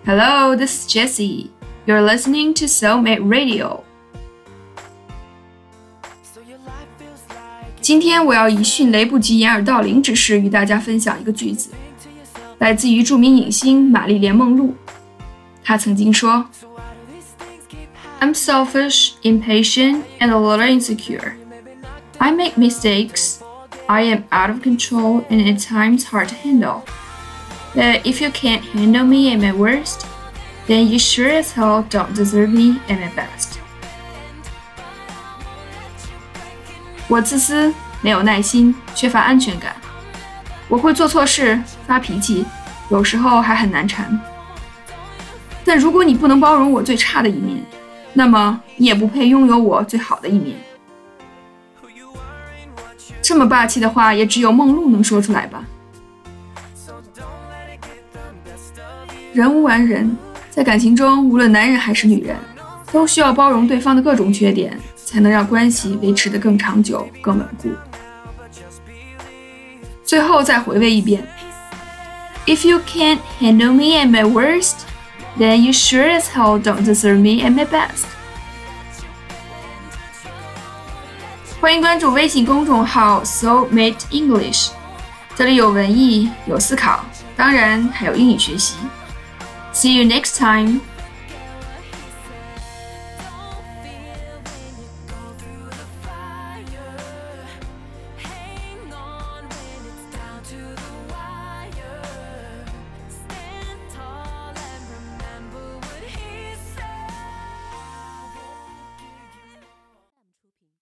Hello, this is Jessie. You're listening to Soulmate Radio. 今天我要以迅雷不及掩耳盗铃之势与大家分享一个句子，来自于著名影星玛丽莲·梦露。她曾经说 I'm selfish, impatient, and a little insecure. I make mistakes. I am out of control and at times hard to handle. But if you can't handle me at my worst, then you sure as hell don't deserve me at my best. 我自私，没有耐心，缺乏安全感。我会做错事，发脾气，有时候还很难缠。但如果你不能包容我最差的一面，那么你也不配拥有我最好的一面。这么霸气的话，也只有梦露能说出来吧。人无完人，在感情中，无论男人还是女人，都需要包容对方的各种缺点，才能让关系维持得更长久、更稳固。最后再回味一遍 If you can't handle me at my worst, then you sure as hell don't deserve me at my best. 欢迎关注微信公众号 Soulmate English， 这里有文艺，有思考，当然还有英语学习。See you next time.